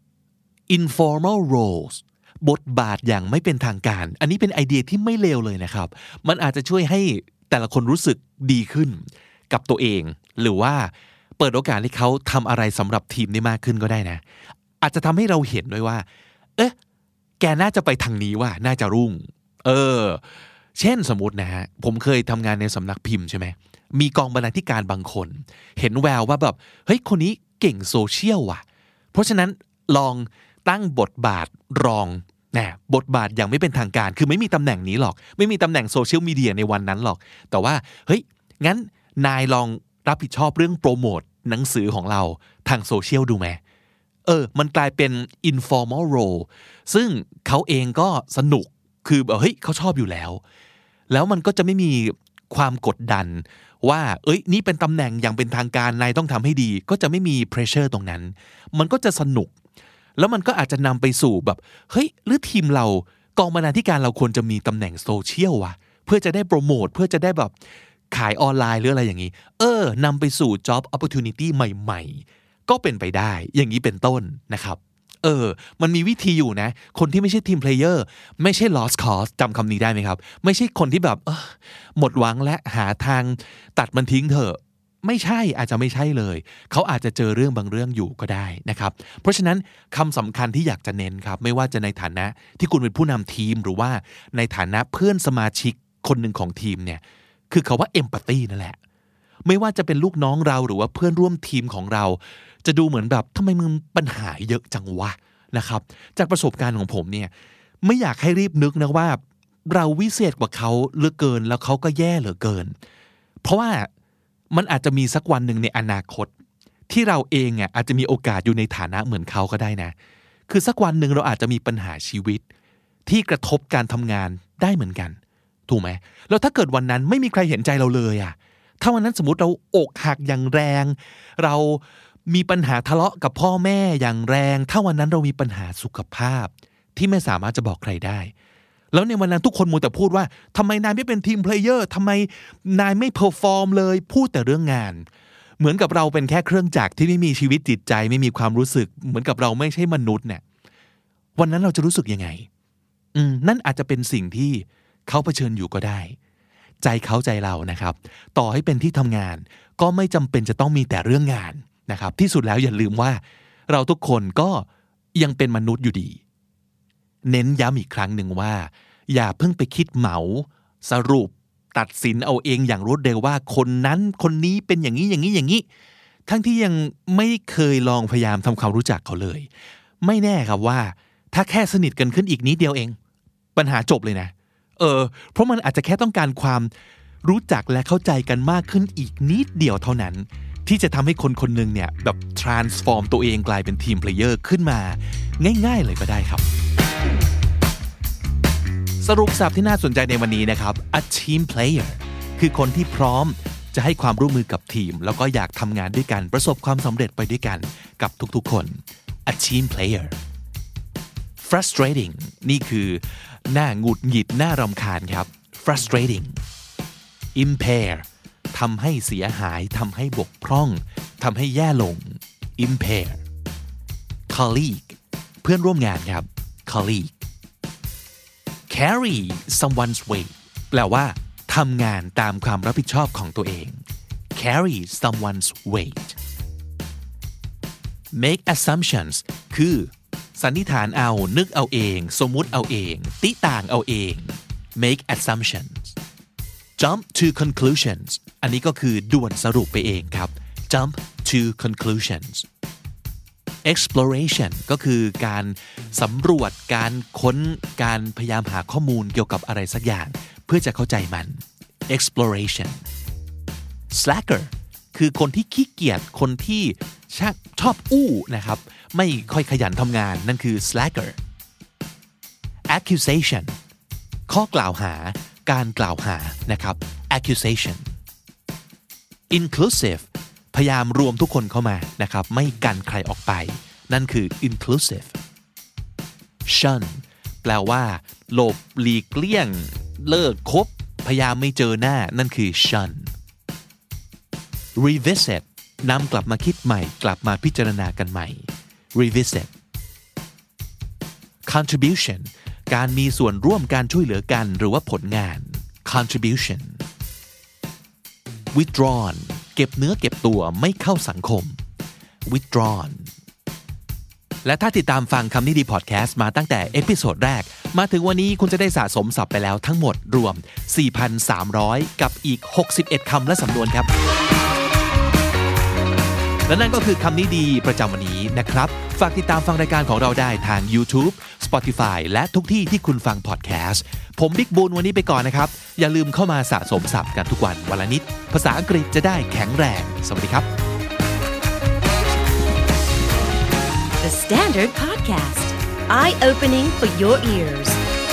informal roles บทบาทอย่างไม่เป็นทางการอันนี้เป็นไอเดียที่ไม่เลวเลยนะครับมันอาจจะช่วยให้แต่ละคนรู้สึกดีขึ้นกับตัวเองหรือว่าเปิดโอกาสให้เขาทำอะไรสำหรับทีมได้มากขึ้นก็ได้นะอาจจะทำให้เราเห็นด้วยว่าแกน่าจะไปทางนี้ว่าน่าจะรุ่งเช่นสมมตินะฮะผมเคยทำงานในสำนักพิมพ์ใช่ไหมมีกองบรรณาธิการบางคนเห็นแววว่าแบบเฮ้ยคนนี้เก่งโซเชียลว่ะเพราะฉะนั้นลองตั้งบทบาทรองบทบาทอย่างไม่เป็นทางการคือไม่มีตำแหน่งนี้หรอกไม่มีตำแหน่งโซเชียลมีเดียในวันนั้นหรอกแต่ว่าเฮ้ยงั้นนายลองรับผิดชอบเรื่องโปรโมทหนังสือของเราทางโซเชียลดูไหมมันกลายเป็น informal role ซึ่งเขาเองก็สนุกคือแบบเฮ้ยเขาชอบอยู่แล้วมันก็จะไม่มีความกดดันว่านี่เป็นตำแหน่งอย่างเป็นทางการนายต้องทำให้ดีก็จะไม่มี pressure ตรงนั้นมันก็จะสนุกแล้วมันก็อาจจะนำไปสู่แบบเฮ้ยหรือทีมเรากองบรรณาธิการเราควรจะมีตำแหน่งโซเชียลวะเพื่อจะได้โปรโมทเพื่อจะได้แบบขายออนไลน์หรืออะไรอย่างนี้นำไปสู่ job opportunity ใหม่ๆก็เป็นไปได้อย่างนี้เป็นต้นนะครับมันมีวิธีอยู่นะคนที่ไม่ใช่ทีมเพลเยอร์ไม่ใช่ lost cause จำคำนี้ได้ไหมครับไม่ใช่คนที่แบบหมดหวังและหาทางตัดมันทิ้งเถอะไม่ใช่อาจจะไม่ใช่เลยเขาอาจจะเจอเรื่องบางเรื่องอยู่ก็ได้นะครับเพราะฉะนั้นคำสำคัญที่อยากจะเน้นครับไม่ว่าจะในฐานะที่คุณเป็นผู้นำทีมหรือว่าในฐานะเพื่อนสมาชิกคนหนึ่งของทีมเนี่ยคือคำว่า empathy นั่นแหละไม่ว่าจะเป็นลูกน้องเราหรือว่าเพื่อนร่วมทีมของเราจะดูเหมือนแบบทำไมมึงปัญหาเยอะจังวะนะครับจากประสบการณ์ของผมเนี่ยไม่อยากให้รีบนึกนะว่าเราวิเศษกว่าเขาเหลือเกินแล้วเขาก็แย่เหลือเกินเพราะว่ามันอาจจะมีสักวันหนึ่งในอนาคตที่เราเองอาจจะมีโอกาสอยู่ในฐานะเหมือนเขาก็ได้นะคือสักวันหนึ่งเราอาจจะมีปัญหาชีวิตที่กระทบการทำงานได้เหมือนกันถูกไหมแล้วถ้าเกิดวันนั้นไม่มีใครเห็นใจเราเลยถ้าวันนั้นสมมติเราอกหักอย่างแรงเรามีปัญหาทะเลาะกับพ่อแม่อย่างแรงถ้าวันนั้นเรามีปัญหาสุขภาพที่ไม่สามารถจะบอกใครได้แล้วในวันนั้นทุกคนมัวแต่พูดว่าทำไมนายไม่เป็นทีมเพลเยอร์ทำไมนายไม่เพอร์ฟอร์มเลยพูดแต่เรื่องงานเหมือนกับเราเป็นแค่เครื่องจักรที่ไม่มีชีวิตจิตใจไม่มีความรู้สึกเหมือนกับเราไม่ใช่มนุษย์เนี่ยวันนั้นเราจะรู้สึกยังไงนั่นอาจจะเป็นสิ่งที่เขาเผชิญอยู่ก็ได้ใจเขาใจเรานะครับต่อให้เป็นที่ทำงานก็ไม่จำเป็นจะต้องมีแต่เรื่องงานนะครับที่สุดแล้วอย่าลืมว่าเราทุกคนก็ยังเป็นมนุษย์อยู่ดีเน้นย้ำอีกครั้งหนึ่งว่าอย่าเพิ่งไปคิดเหมาสรุปตัดสินเอาเองอย่างรวดเร็วว่าคนนั้นคนนี้เป็นอย่างนี้อย่างนี้อย่างนี้ทั้งที่ยังไม่เคยลองพยายามทำความรู้จักเขาเลยไม่แน่ครับว่าถ้าแค่สนิทกันขึ้นอีกนิดเดียวเองปัญหาจบเลยนะเพราะมันอาจจะแค่ต้องการความรู้จักและเข้าใจกันมากขึ้นอีกนิดเดียวเท่านั้นที่จะทำให้คนคนหนึ่งเนี่ยแบบ transform ตัวเองกลายเป็นทีมเพลเยอร์ขึ้นมาง่ายๆเลยก็ได้ครับสรุปศัพท์ที่น่าสนใจในวันนี้นะครับ a team player คือคนที่พร้อมจะให้ความร่วมมือกับทีมแล้วก็อยากทำงานด้วยกันประสบความสำเร็จไปด้วยกันกับทุกๆคน a team player frustrating นี่คือหน้าหงุดหงิดหน้ารำคาญครับ frustrating impair ทำให้เสียหายทำให้บกพร่องทำให้แย่ลง impair colleague เพื่อนร่วมงานครับ colleague carry someone's weight แปลว่าทำงานตามความรับผิดชอบของตัวเอง carry someone's weight make assumptions คือสันนิษฐานเอานึกเอาเองสมมุติเอาเองติต่างเอาเอง make assumptions jump to conclusions อันนี้ก็คือด่วนสรุปไปเองครับ jump to conclusions exploration ก็คือการสำรวจการค้นการพยายามหาข้อมูลเกี่ยวกับอะไรสักอย่างเพื่อจะเข้าใจมัน exploration slacker คือคนที่ขี้เกียจคนที่ชอบอู้นะครับไม่ค่อยขยันทำงานนั่นคือ slacker accusation ข้อกล่าวหาการกล่าวหานะครับ accusation inclusive พยายามรวมทุกคนเข้ามานะครับไม่กันใครออกไปนั่นคือ inclusive shun แปลว่าหลบหลีกเลี่ยงเลิกคบพยายามไม่เจอหน้านั่นคือ shun revisit นำกลับมาคิดใหม่กลับมาพิจารณากันใหม่ revisit contribution การมีส่วนร่วมการช่วยเหลือกันหรือว่าผลงาน contribution withdrawn เก็บเนื้อเก็บตัวไม่เข้าสังคม withdrawn และถ้าติดตามฟังคำนี้ดีพอดแคสต์มาตั้งแต่เอพิโซดแรกมาถึงวันนี้คุณจะได้สะสมศัพท์ไปแล้วทั้งหมดรวม 4,300 กับอีก61คำและสำนวนครับและนั่นก็คือคำนี้ดีประจำวันนี้นะครับฝากติดตามฟังรายการของเราได้ทาง YouTube Spotify และทุกที่ที่คุณฟังพอดแคสต์ผมบิ๊กบูนวันนี้ไปก่อนนะครับอย่าลืมเข้ามาสะสมศัพท์กันทุกวันวันละนิดภาษาอังกฤษจะได้แข็งแรงสวัสดีครับ The Standard Podcast Eye-opening for your ears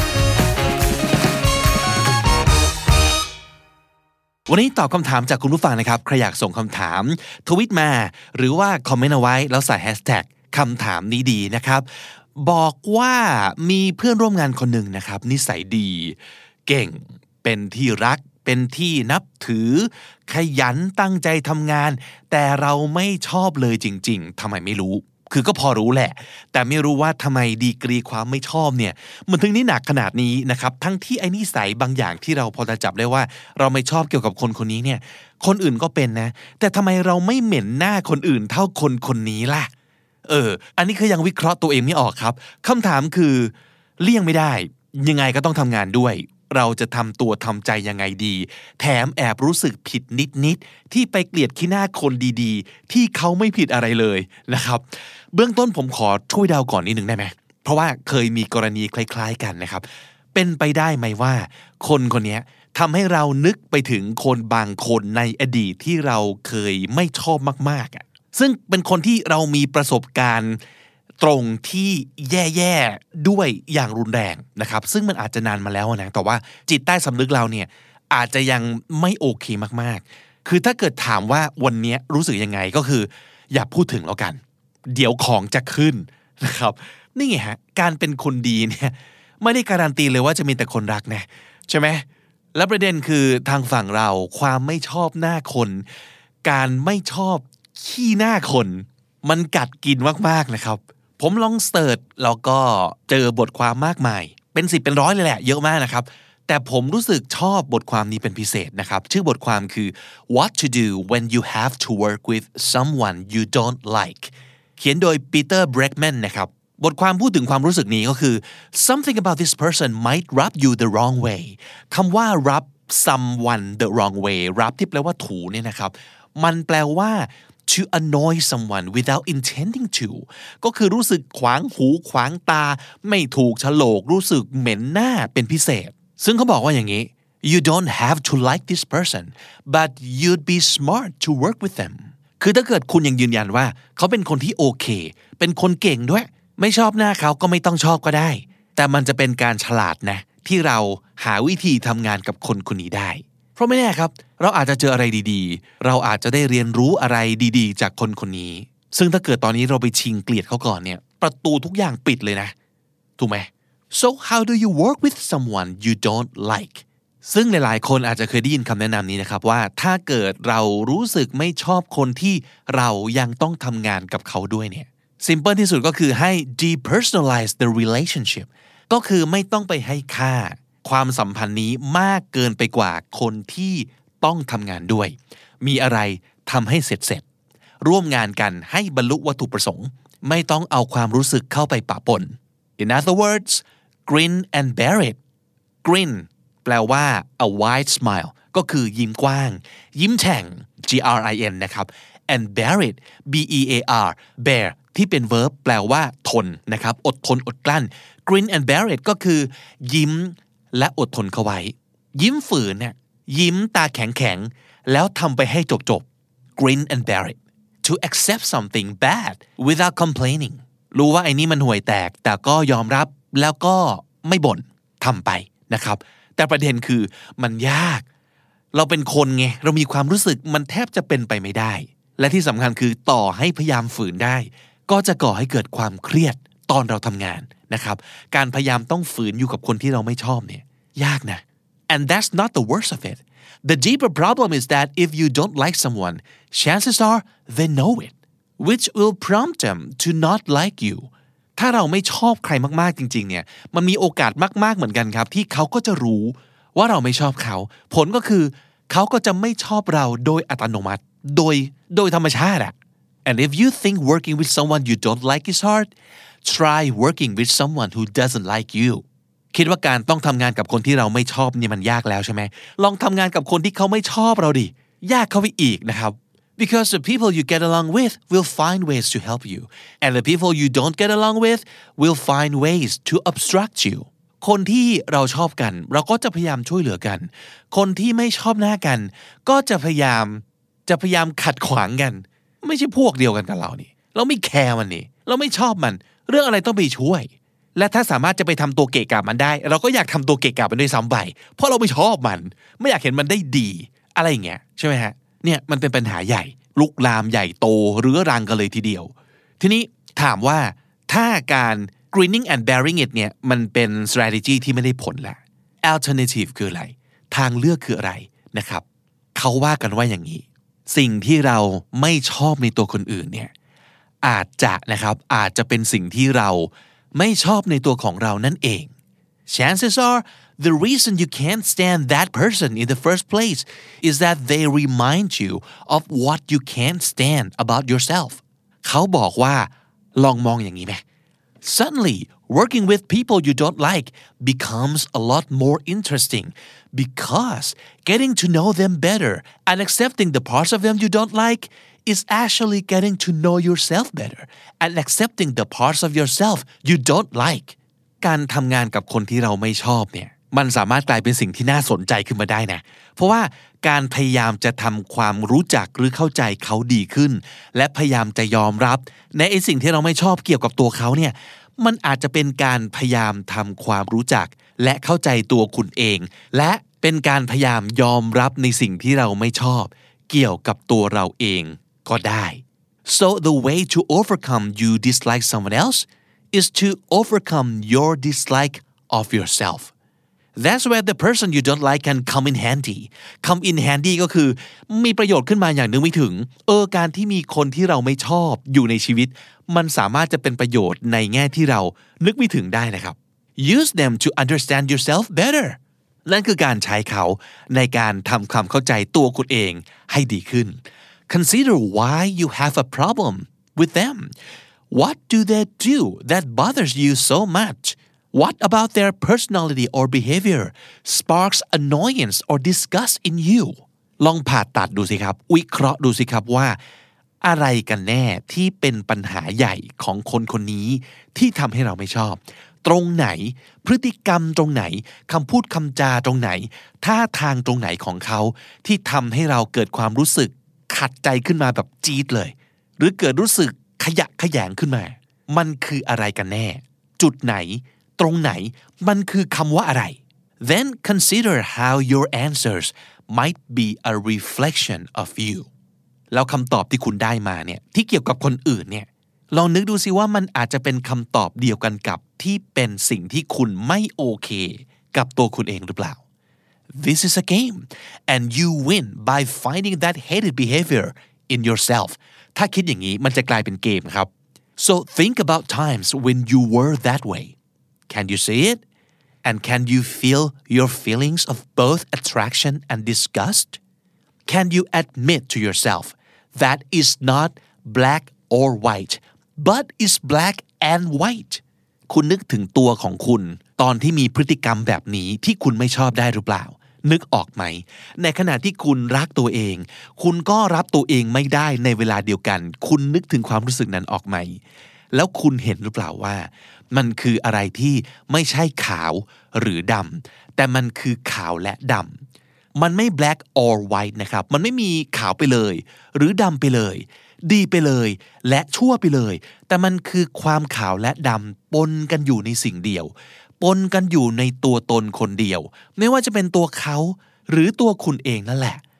วันนี้ตอบคำถามจากคุณผู้ฟังนะครับใครอยากส่งคำถามทวิตมาหรือว่าคอมเมนต์เอาไว้แล้วใส่แฮชแท็กคำถามนี้ดีนะครับบอกว่ามีเพื่อนร่วมงานคนหนึ่งนะครับนิสัยดีเก่งเป็นที่รักเป็นที่นับถือขยันตั้งใจทำงานแต่เราไม่ชอบเลยจริงๆทำไมไม่รู้คือก็พอรู้แหละแต่ไม่รู้ว่าทำไมดีกรีความไม่ชอบเนี่ยมันถึงนี่หนักขนาดนี้นะครับทั้งที่ไอ้นิสัยบางอย่างที่เราพอจะจับได้ว่าเราไม่ชอบเกี่ยวกับคนคนนี้เนี่ยคนอื่นก็เป็นนะแต่ทำไมเราไม่เหม็นหน้าคนอื่นเท่าคนคนนี้ล่ะอันนี้คือยังวิเคราะห์ตัวเองไม่ออกครับคำถามคือเลี่ยงไม่ได้ยังไงก็ต้องทำงานด้วยเราจะทำตัวทำใจยังไงดีแถมแอบรู้สึกผิดนิดๆที่ไปเกลียดขี้หน้าคนดีๆที่เขาไม่ผิดอะไรเลยนะครับเบื้องต้นผมขอช่วยเดาก่อนนิดนึงได้ไหมเพราะว่าเคยมีกรณีคล้ายๆกันนะครับเป็นไปได้ไหมว่าคนคนนี้ทำให้เรานึกไปถึงคนบางคนในอดีตที่เราเคยไม่ชอบมากๆซึ่งเป็นคนที่เรามีประสบการณ์ตรงที่แย่ๆด้วยอย่างรุนแรงนะครับซึ่งมันอาจจะนานมาแล้วนะแต่ว่าจิตใต้สำนึกเราเนี่ยอาจจะยังไม่โอเคมากๆคือถ้าเกิดถามว่าวันนี้รู้สึกยังไงก็คืออย่าพูดถึงแล้วกันเดี๋ยวของจะขึ้นนะครับนี่ไงฮะการเป็นคนดีเนี่ยไม่ได้การันตีเลยว่าจะมีแต่คนรักนะใช่ไหมและประเด็นคือทางฝั่งเราความไม่ชอบหน้าคนการไม่ชอบขี้หน้าคนมันกัดกินมากๆนะครับผมลองเสิร์ชแล้วก็เจอบทความมากมายเป็น10เป็นร้อยเลยแหละเยอะมากนะครับแต่ผมรู้สึกชอบบทความนี้เป็นพิเศษนะครับชื่อบทความคือ What to do when you have to work with someone you don't like เขียนโดย Peter Bregman นะครับบทความพูดถึงความรู้สึกนี้ก็คือ Something about this person might rub you the wrong way คำว่า rub someone the wrong way rub ที่แปลว่าถูเนี่ยนะครับมันแปลว่าto annoy someone without intending to ก็คือรู้สึกขวางหูขวางตาไม่ถูกโฉลกรู้สึกเหม็นหน้าเป็นพิเศษซึ่งเขาบอกว่าอย่างนี้ you don't have to like this person but you'd be smart to work with them คือถ้าเกิดคุณยังยืนยันว่าเขาเป็นคนที่โอเคเป็นคนเก่งด้วยไม่ชอบหน้าเขาก็ไม่ต้องชอบก็ได้แต่มันจะเป็นการฉลาดนะที่เราหาวิธีทำงานกับคนคนนี้ได้เพราะไม่แน่ครับเราอาจจะเจออะไรดีๆเราอาจจะได้เรียนรู้อะไรดีๆจากคนคนนี้ซึ่งถ้าเกิดตอนนี้เราไปชิงเกลียดเขาก่อนเนี่ยประตูทุกอย่างปิดเลยนะถูกไหม so how do you work with someone you don't like ซึ่งหลายๆคนอาจจะเคยได้ยินคำแนะนำนี้นะครับว่าถ้าเกิดเรารู้สึกไม่ชอบคนที่เรายังต้องทำงานกับเขาด้วยเนี่ย simple ที่สุดก็คือให้ depersonalize the relationship ก็คือไม่ต้องไปให้ค่าความสัมพันธ์นี้มากเกินไปกว่าคนที่ต้องทำงานด้วยมีอะไรทำให้เสร็จร่วมงานกันให้บรรลุวัตถุประสงค์ไม่ต้องเอาความรู้สึกเข้าไปปะปน In other words grin and bear it grin แปลว่า a wide smile ก็คือยิ้มกว้างยิ้มแฉ่ง grin นะครับ and bear it bear bear ที่เป็น verb แปลว่าทนนะครับอดทนอดกลั้น grin and bear it ก็คือยิ้มและอดทนเข้าไว้ยิ้มฝืนเนี่ยยิ้มตาแข็งๆแล้วทำไปให้จบๆ grin and bear it to accept something bad without complaining รู้ว่าไอ้นี่มันห่วยแตกแต่ก็ยอมรับแล้วก็ไม่บ่นทำไปนะครับแต่ประเด็นคือมันยากเราเป็นคนไงเรามีความรู้สึกมันแทบจะเป็นไปไม่ได้และที่สำคัญคือต่อให้พยายามฝืนได้ก็จะก่อให้เกิดความเครียดตอนเราทำงานนะครับการพยายามต้องฝืนอยู่กับคนที่เราไม่ชอบเนี่ยยากนะ and that's not the worst of it the deeper problem is that if you don't like someone chances are they know it which will prompt them to not like you ถ้าเราไม่ชอบใครมากๆจริงๆเนี่ยมันมีโอกาสมากๆเหมือนกันครับที่เขาก็จะรู้ว่าเราไม่ชอบเขาผลก็คือเขาก็จะไม่ชอบเราโดยอัตโนมัติโดยธรรมชาติอะ and if you think working with someone you don't like is hard try working with someone who doesn't like you คิดว่าการต้องทำงานกับคนที่เราไม่ชอบนี่มันยากแล้วใช่ไหมลองทำงานกับคนที่เขาไม่ชอบเราดิยากเข้าไปอีกนะครับbecause the people you get along with will find ways to help you and the people you don't get along with will find ways to obstruct you คนที่เราชอบกันเราก็จะพยายามช่วยเหลือกันคนที่ไม่ชอบหน้ากันก็จะพยายามขัดขวางกันไม่ใช่พวกเดียวกันกับเรานี่เราไม่แคร์มันนี่เราไม่ชอบมันเรื่องอะไรต้องไปช่วยและถ้าสามารถจะไปทำตัวเกะกะมันได้เราก็อยากทำตัวเกะกะมันด้วยซ้ำไปเพราะเราไม่ชอบมันไม่อยากเห็นมันได้ดีอะไรอย่างเงี้ยใช่ไหมฮะเนี่ยมันเป็นปัญหาใหญ่ลุกลามใหญ่โตเรื้อรังกันเลยทีเดียวทีนี้ถามว่าถ้าการ grinning and bearing it เนี่ยมันเป็น strategy ที่ไม่ได้ผลละ alternative คืออะไรทางเลือกคืออะไรนะครับเขาว่ากันว่าอย่างนี้สิ่งที่เราไม่ชอบในตัวคนอื่นเนี่ยอาจจะเป็นสิ่งที่เราไม่ชอบในตัวของเรานั่นเอง chances are the reason you can't stand that person in the first place is that they remind you of what you can't stand about yourself เขาบอกว่าลองมองอย่างนี้ไหม suddenly working with people you don't like becomes a lot more interesting because getting to know them better and accepting the parts of them you don't like is actually getting to know yourself better and accepting the parts of yourself you don't like การทำงานกับคนที่เราไม่ชอบเนี่ยมันสามารถกลายเป็นสิ่งที่น่าสนใจขึ้นมาได้นะเพราะว่าการพยายามจะทำความรู้จักหรือเข้าใจเขาดีขึ้นและพยายามจะยอมรับในสิ่งที่เราไม่ชอบเกี่ยวกับตัวเขาเนี่ยมันอาจจะเป็นการพยายามทำความรู้จักและเข้าใจตัวคุณเองและเป็นการพยายามยอมรับในสิ่งที่เราไม่ชอบเกี่ยวกับตัวเราเองก็ได้ so the way to overcome you dislike someone else is to overcome your dislike of yourself That's where the person you don't like can come in handy come in handy ก็คือมีประโยชน์ขึ้นมาอย่างนึกไม่ถึงการที่มีคนที่เราไม่ชอบอยู่ในชีวิตมันสามารถจะเป็นประโยชน์ในแง่ที่เรานึกไม่ถึงได้นะครับ Use them to understand yourself better นั่นคือการใช้เขาในการทำความเข้าใจตัวคุณเองให้ดีขึ้น Consider why you have a problem with them What do they do that bothers you so much?What about their personality or behavior sparks annoyance or disgust in you ลองผ่าตัดดูสิครับวิเคราะห์ดูสิครับว่าอะไรกันแน่ที่เป็นปัญหาใหญ่ของคนคนนี้ที่ทำให้เราไม่ชอบตรงไหนพฤติกรรมตรงไหนคำพูดคำจาตรงไหนท่าทางตรงไหนของเขาที่ทำให้เราเกิดความรู้สึกขัดใจขึ้นมาแบบจี๊ดเลยหรือเกิดรู้สึกขยะแขยงขึ้นมามันคืออะไรกันแน่จุดไหนตรงไหนมันคือคำว่าอะไร Then consider how your answers might be a reflection of you แล้วคำตอบที่คุณได้มาเนี่ยที่เกี่ยวกับคนอื่นเนี่ยลองนึกดูสิว่ามันอาจจะเป็นคำตอบเดียวกันกับที่เป็นสิ่งที่คุณไม่โอเคกับตัวคุณเองหรือเปล่า This is a game and you win by finding that hated behavior in yourself ถ้าคิดอย่างนี้มันจะกลายเป็นเกมครับ So think about times when you were that way.Can you see it? And can you feel your feelings of both attraction and disgust? Can you admit to yourself that it's not black or white, but is black and white? คุณนึกถึงตัวของคุณตอนที่มีพฤติกรรมแบบนี้ที่คุณไม่ชอบได้หรือเปล่านึกออกไหมในขณะที่คุณรักตัวเองคุณก็รับตัวเองไม่ได้ในเวลาเดียวกันคุณนึกถึงความรู้สึกนั้นออกไหมแล้วคุณเห็นหรือเปล่าว่ามันคืออะไรที่ไม่ใช่ขาวหรือดำแต่มันคือขาวและดำมันไม่ black or white นะครับมันไม่มีขาวไปเลยหรือดำไปเลยดีไปเลยและชั่วไปเลยแต่มันคือความขาวและดำปนกันอยู่ในสิ่งเดียวปนกันอยู่ในตัวตนคนเดียวไม่ว่าจะเป็นตัวเขาหรือตัวคุณเองนั่นแหละ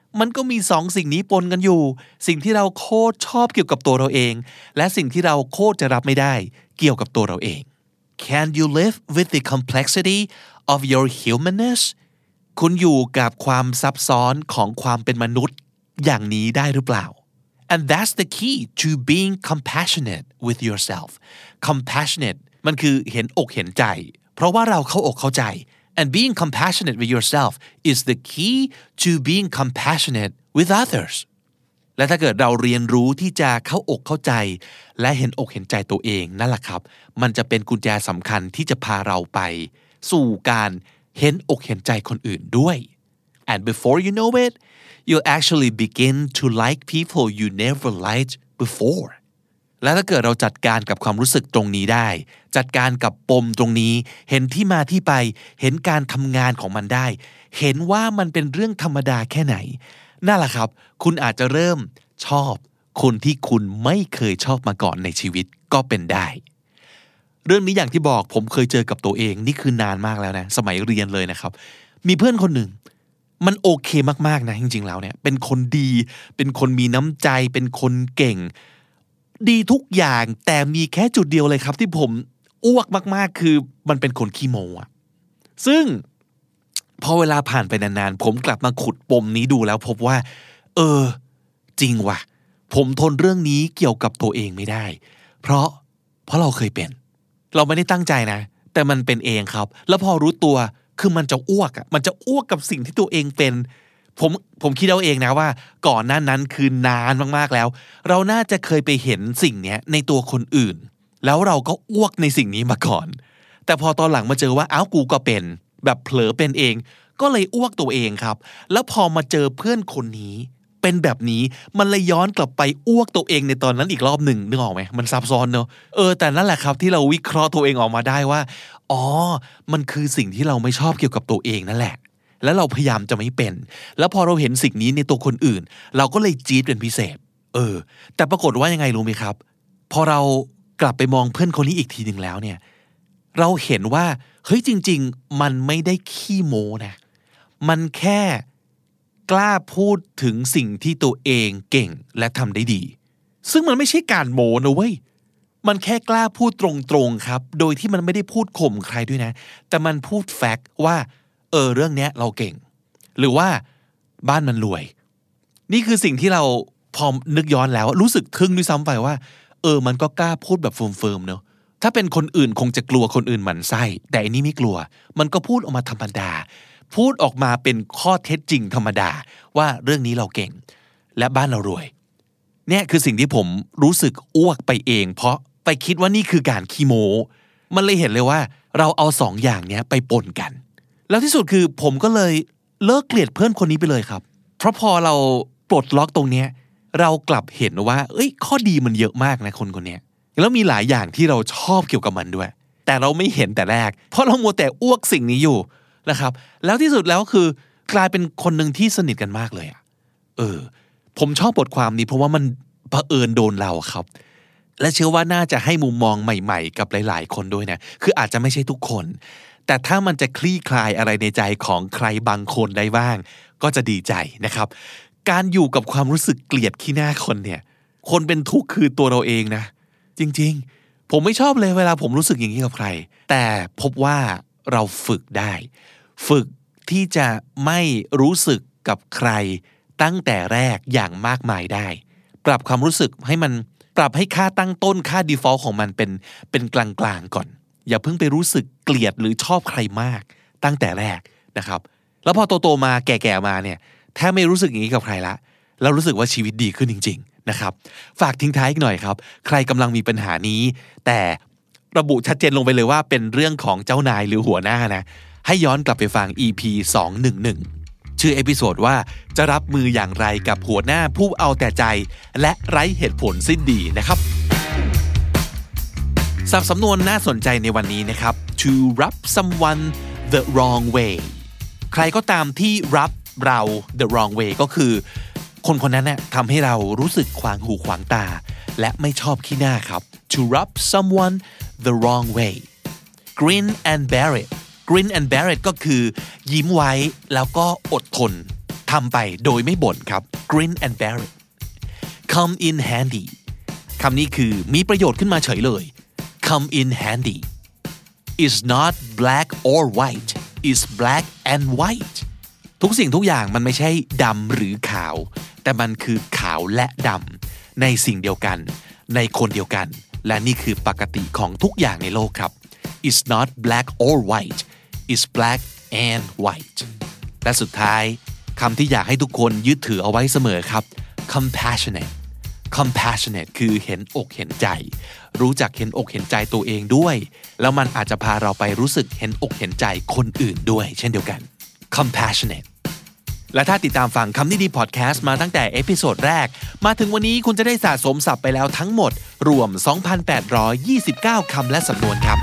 มันก็มี2สิ่งนี้ปนกันอยู่สิ่งที่เราโคตรชอบเกี่ยวกับตัวเราเองและสิ่งที่เราโคตรจะรับไม่ได้เกี่ยวกับตัวเราเอง Can you live with the complexity of your humanness คุณอยู่กับความซับซ้อนของความเป็นมนุษย์อย่างนี้ได้หรือเปล่า And that's the key to being compassionate with yourself compassionate มันคือเห็นอกเห็นใจเพราะว่าเราเข้าอกเข้าใจ and being compassionate with yourself is the key to being compassionate with others และถ้าเกิดเราเรียนรู้ที่จะเข้าอกเข้าใจและเห็นอกเห็นใจตัวเองนั่นแหละครับมันจะเป็นกุญแจสำคัญที่จะพาเราไปสู่การเห็นอกเห็นใจคนอื่นด้วย and before you know it you'll actually begin to like people you never liked before และถ้าเกิดเราจัดการกับความรู้สึกตรงนี้ได้จัดการกับปมตรงนี้เห็นที่มาที่ไปเห็นการทำงานของมันได้เห็นว่ามันเป็นเรื่องธรรมดาแค่ไหนนั่นแหละครับคุณอาจจะเริ่มชอบคนที่คุณไม่เคยชอบมาก่อนในชีวิตก็เป็นได้เรื่องนี้อย่างที่บอกผมเคยเจอกับตัวเองนี่คือนานมากแล้วนะสมัยเรียนเลยนะครับมีเพื่อนคนหนึ่งมันโอเคมากๆนะจริงๆแล้วเนี่ยเป็นคนดีเป็นคนมีน้ำใจเป็นคนเก่งดีทุกอย่างแต่มีแค่จุดเดียวเลยครับที่ผมอ้วกมากๆคือมันเป็นคนขี้โม้อะซึ่งพอเวลาผ่านไปนานๆผมกลับมาขุดปมนี้ดูแล้วพบว่าจริงว่ะผมทนเรื่องนี้เกี่ยวกับตัวเองไม่ได้เพราะเราเคยเป็นเราไม่ได้ตั้งใจนะแต่มันเป็นเองครับแล้วพอรู้ตัวคือมันจะอ้วกมันจะอ้วกกับสิ่งที่ตัวเองเป็นผมคิดเอาเองนะว่าก่อนหน้านั้นคือนานมากๆแล้วเราน่าจะเคยไปเห็นสิ่งนี้ในตัวคนอื่นแล้วเราก็อ้วกในสิ่งนี้มาก่อนแต่พอตอนหลังมาเจอว่ากูก็เป็นแบบเผลอเป็นเองก็เลยอ้วกตัวเองครับแล้วพอมาเจอเพื่อนคนนี้เป็นแบบนี้มันเลยย้อนกลับไปอ้วกตัวเองในตอนนั้นอีกรอบหนึ่งนึกออกไหมมันซับซ้อนเนอะแต่นั่นแหละครับที่เราวิเคราะห์ตัวเองออกมาได้ว่ามันคือสิ่งที่เราไม่ชอบเกี่ยวกับตัวเองนั่นแหละแล้วเราพยายามจะไม่เป็นแล้วพอเราเห็นสิ่งนี้ในตัวคนอื่นเราก็เลยจี๊ดเป็นพิเศษแต่ปรากฏว่ายังไงรู้ไหมครับพอเรากลับไปมองเพื่อนคนนี้อีกทีนึงแล้วเนี่ยเราเห็นว่าเฮ้ยจริงๆมันไม่ได้ขี้โม้นะมันแค่กล้าพูดถึงสิ่งที่ตัวเองเก่งและทำได้ดีซึ่งมันไม่ใช่การโม้นะเว้ยมันแค่กล้าพูดตรงๆครับโดยที่มันไม่ได้พูดข่มใครด้วยนะแต่มันพูดแฟกต์ว่าเรื่องเนี้ยเราเก่งหรือว่าบ้านมันรวยนี่คือสิ่งที่เราพอนึกย้อนแล้วรู้สึกทึ่งด้วยซ้ำไปว่ามันก็กล้าพูดแบบเฟิร์มๆเนอะถ้าเป็นคนอื่นคงจะกลัวคนอื่นหมั่นไส้แต่อันนี้ไม่กลัวมันก็พูดออกมาธรรมดาพูดออกมาเป็นข้อเท็จจริงธรรมดาว่าเรื่องนี้เราเก่งและบ้านเรารวยเนี่ยคือสิ่งที่ผมรู้สึกอ้วกไปเองเพราะไปคิดว่านี่คือการขี้โม้มันเลยเห็นเลยว่าเราเอาสองอย่างเนี้ยไปปนกันแล้วที่สุดคือผมก็เลยเลิกเกลียดเพื่อนคนนี้ไปเลยครับเพราะพอเราปลดล็อกตรงเนี้ยเรากลับเห็นว่าข้อดีมันเยอะมากนะคนเนี้ยแล้วมีหลายอย่างที่เราชอบเกี่ยวกับมันด้วยแต่เราไม่เห็นแต่แรกเพราะเรามัวแต่อ้วกสิ่งนี้อยู่นะครับแล้วที่สุดแล้วคือกลายเป็นคนหนึ่งที่สนิทกันมากเลยผมชอบบทความนี้เพราะว่ามันเผอิญโดนเราครับและเชื่อว่าน่าจะให้มุมมองใหม่ๆกับหลายๆคนด้วยนะคืออาจจะไม่ใช่ทุกคนแต่ถ้ามันจะคลี่คลายอะไรในใจของใครบางคนได้บ้างก็จะดีใจนะครับการอยู่กับความรู้สึกเกลียดขี้หน้าคนเนี่ยคนเป็นทุกข์คือตัวเราเองนะจริงๆผมไม่ชอบเลยเวลาผมรู้สึกอย่างนี้กับใครแต่พบว่าเราฝึกได้ฝึกที่จะไม่รู้สึกกับใครตั้งแต่แรกอย่างมากมายได้ปรับความรู้สึกให้มันปรับให้ค่าตั้งต้นค่า default ของมันเป็นกลางๆก่อนอย่าเพิ่งไปรู้สึกเกลียดหรือชอบใครมากตั้งแต่แรกนะครับแล้วพอโตๆมาแก่ๆมาเนี่ยแทบไม่รู้สึกอย่างนี้กับใครละแล้วรู้สึกว่าชีวิตดีขึ้นจริงๆนะครับฝากทิ้งท้ายอีกหน่อยครับใครกำลังมีปัญหานี้แต่ระบุชัดเจนลงไปเลยว่าเป็นเรื่องของเจ้านายหรือหัวหน้านะให้ย้อนกลับไปฟัง EP 211ชื่อเอพิโซดว่าจะรับมืออย่างไรกับหัวหน้าผู้เอาแต่ใจและไร้เหตุผลสิ้นดีนะครับศัพท์สำนวนน่าสนใจในวันนี้นะครับ to rub someone the wrong way ใครก็ตามที่ rub เรา the wrong way ก็คือคนคนนั้นเนี่ยทำให้เรารู้สึกขวางหูขวางตาและไม่ชอบขี้หน้าครับ to rub someone the wrong way grin and bear it grin and bear it ก็คือยิ้มไว้แล้วก็อดทนทำไปโดยไม่บ่นครับ grin and bear it come in handy คำนี้คือมีประโยชน์ขึ้นมาเฉยเลย come in handy is not black or white is black and white ทุกสิ่งทุกอย่างมันไม่ใช่ดำหรือขาวแต่มันคือขาวและดำในสิ่งเดียวกันในคนเดียวกันและนี่คือปกติของทุกอย่างในโลกครับ is not black or white is black and white และสุดท้ายคำที่อยากให้ทุกคนยึดถือเอาไว้เสมอครับ compassionate คือเห็นอกเห็นใจรู้จักเห็นอกเห็นใจตัวเองด้วยแล้วมันอาจจะพาเราไปรู้สึกเห็นอกเห็นใจคนอื่นด้วยเช่นเดียวกัน compassionate และถ้าติดตามฟังคำนี้ดีพอดแคสต์มาตั้งแต่เอพิโซดแรกมาถึงวันนี้คุณจะได้สะสมศัพท์ไปแล้วทั้งหมดรวม 2,829 คำและสำนวนครับ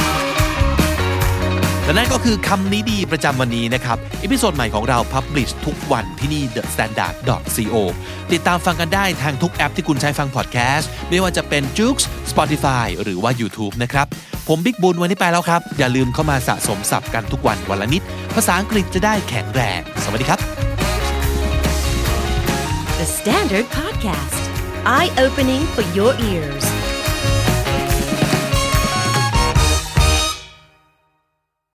และนั่นก็คือคำนี้ดีประจำวันนี้นะครับเอพิโซดใหม่ของเรา publish ทุกวันที่นี่ thestandard.co ติดตามฟังกันได้ทางทุกแอปที่คุณใช้ฟังพอดแคสต์ไม่ว่าจะเป็น Joox Spotify หรือว่า YouTube นะครับผมบิ๊กบุญวันนี้ไปแล้วครับอย่าลืมเข้ามาสะสมศัพท์กันทุกวันวันละนิดภาษาอังกฤษจะได้แข็งแรงสวัสดีครับ The Standard Podcast Eye Opening for Your Ears